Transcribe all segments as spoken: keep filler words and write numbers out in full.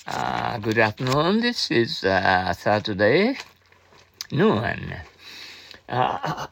Uh, good afternoon. This is uh, Saturday noon. Uh,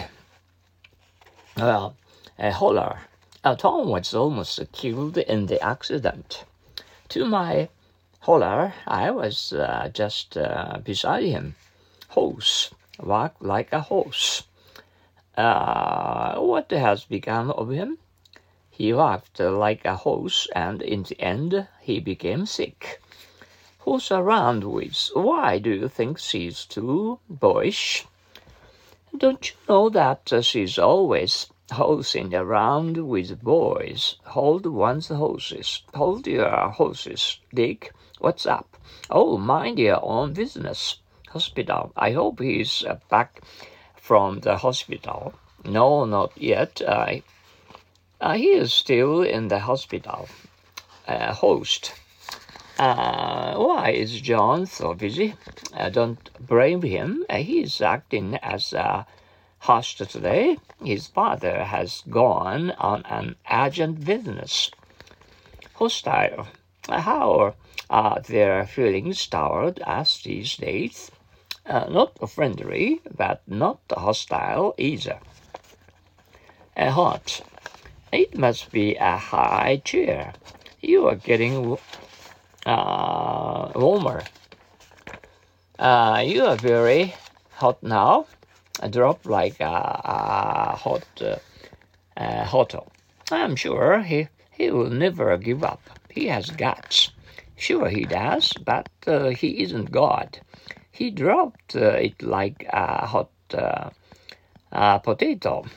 well, a holler. Uh, Tom was almost killed in the accident. To my holler, I was uh, just uh, beside him. Horse, walked like a horse. Uh, what has become of him? He walked like a horse, and in the end, he became sick. Who's around with? Why do you think she's too boyish? Don't you know that uh, she's always horsing around with boys? Hold one's horses. Hold your horses, Dick. What's up? Oh, mind your own business. Hospital. I hope he's uh, back from the hospital. No, not yet. Uh, uh, he is still in the hospital. Uh, host. Uh, why is John so busy? Uh, don't blame him. Uh, he's acting as a host today. His father has gone on an urgent business. Hostile. Uh, how are their feelings toward us these days? Uh, not friendly, but not hostile either. Uh, hot. It must be a high chair. You are getting Uh, warmer. Uh, you are very hot now. A drop like a, a hot uh, uh, hotel. I'm sure he, he will never give up. He has guts. Sure he does, but uh, he isn't God. He dropped uh, it like a hot uh, uh, potato.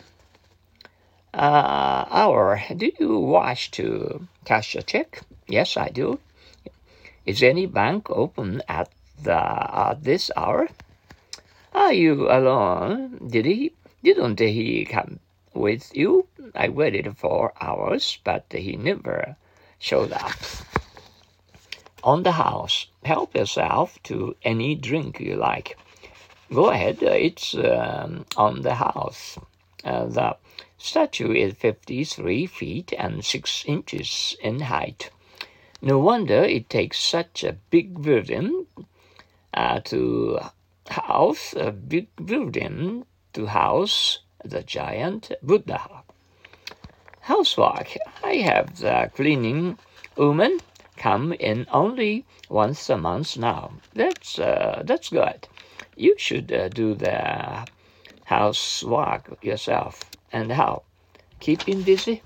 Uh, hour, do you wish to cash a check? Yes, I do. Is any bank open at the at this hour? Are you alone? Did he didn't he come with you? I waited for hours, but he never showed up. On the house, help yourself to any drink you like. Go ahead, it's um, on the house. Uh, the statue is fifty-three feet and six inches in height. No wonder it takes such a big building uh, to house a big building to house the giant Buddha. Housework. I have the cleaning woman come in only once a month now. That's uh, that's good. You should uh, do the housework yourself. And how? Keeping busy?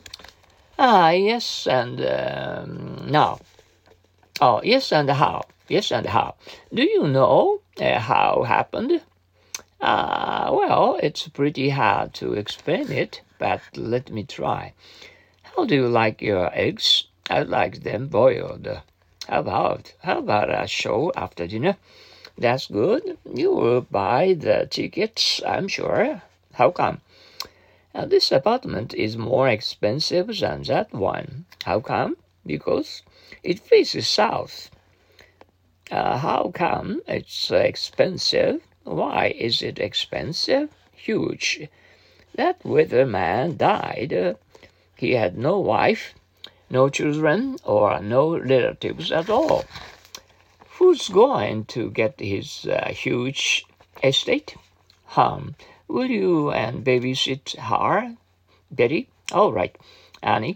Ah, yes, and um, now. Oh, yes, and how? Yes, and how? Do you know uh, how happened? Uh, well, it's pretty hard to explain it, but let me try. How do you like your eggs? I like them boiled. How about, how about a show after dinner? That's good. You will buy the tickets, I'm sure. How come? Now, this apartment is more expensive than that one. How come? Because it faces south. Uh, how come it's expensive? Why is it expensive? Huge. That weatherman died. Uh, he had no wife, no children, or no relatives at all. Who's going to get his uh, huge estate? Hum. Will you and babysit her, Betty? All right, Annie.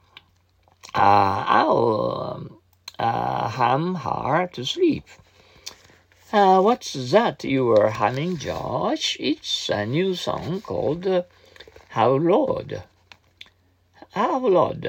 Uh, I'll um, uh, hum her to sleep. Uh, what's that you were humming, Josh? It's a new song called uh, How Lord. How Lord.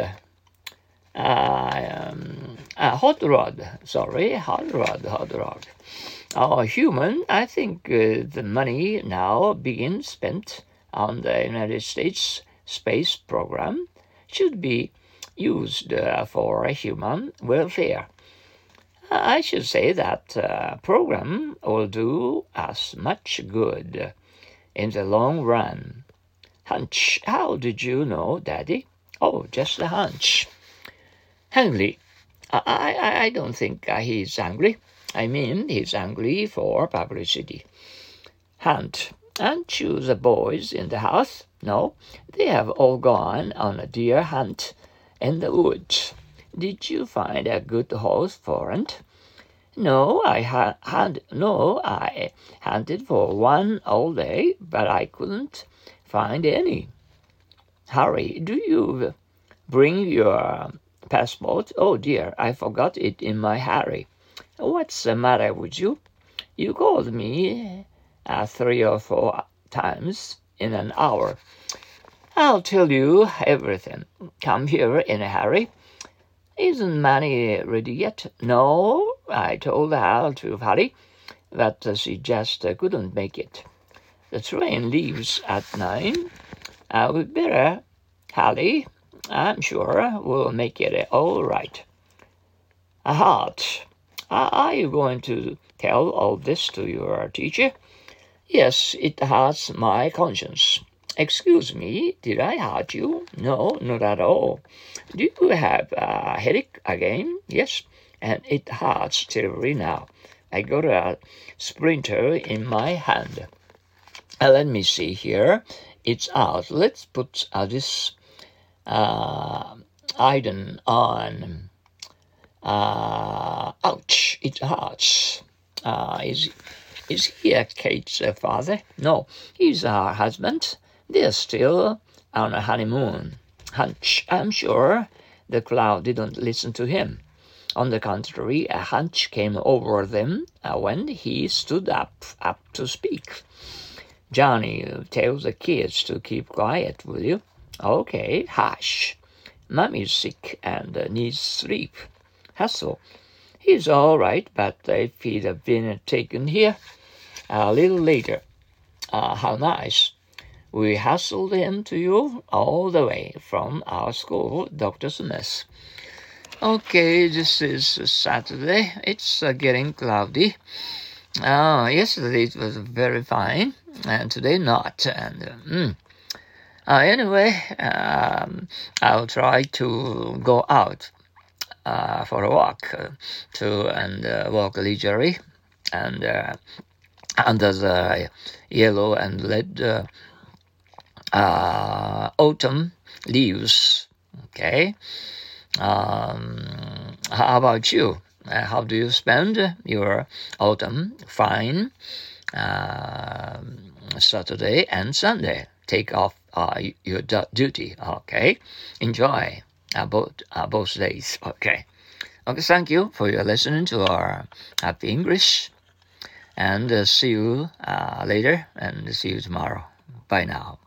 Uh, um, uh, hot Rod. Sorry, Hot Rod, Hot Rod. Oh, human, I think uh, the money now being spent on the United States space program should be used uh, for human welfare. I should say that uh, program will do us much good in the long run. Hunch, how did you know, Daddy? Oh, just a hunch. Hungry. I, I, I don't think uh, he's hungry. I mean, he's angry for publicity. Hunt. Aren't you the boys in the house? No, they have all gone on a deer hunt in the woods. Did you find a good horse for it? No, I ha- had no, I hunted for one all day, but I couldn't find any. Harry, do you bring your passport? Oh dear, I forgot it in my hurry. What's the matter with you? You called me uh, three or four times in an hour. I'll tell you everything. Come here in a hurry. Isn't Manny ready yet? No, I told Hal to hurry, but uh, she just uh, couldn't make it. The train leaves at nine. Uh, we better hurry. I'm sure we'll make it all right. A heart. Uh, are you going to tell all this to your teacher? Yes, it hurts my conscience. Excuse me, did I hurt you? No, not at all. Do you have a headache again? Yes, and it hurts terribly now. I got a splinter in my hand. Uh, let me see here. It's out. Let's put uh, this uh, iron on. Uh, ouch, it hurts. Uh, is, is he Kate's uh, father? No, he's her husband. They're still on a honeymoon. Hunch, I'm sure the crowd didn't listen to him. On the contrary, a hunch came over them uh, when he stood up, up to speak. Johnny, tell the kids to keep quiet, will you? Okay, hush. Mommy's sick and uh, needs sleep. Hustle. He's all right, but if he'd have been taken here a little later, uh, how nice. We hustled him to you all the way from our school, Doctor Smith. Okay, this is Saturday. It's uh, getting cloudy. Uh, yesterday it was very fine, and today not. And uh, mm. uh, anyway, um, I'll try to go out uh, for a walk uh, to and uh, walk leisurely and uh, under the yellow and red uh, uh, autumn leaves. Okay. Um, how about you? Uh, how do you spend your autumn? Fine. Uh, Saturday and Sunday. Take off uh, your du- duty. Okay. Enjoy uh, both uh, both days. Okay. Okay. Thank you for your listening to our Happy English, and uh, see you uh, later, and see you tomorrow. Bye now.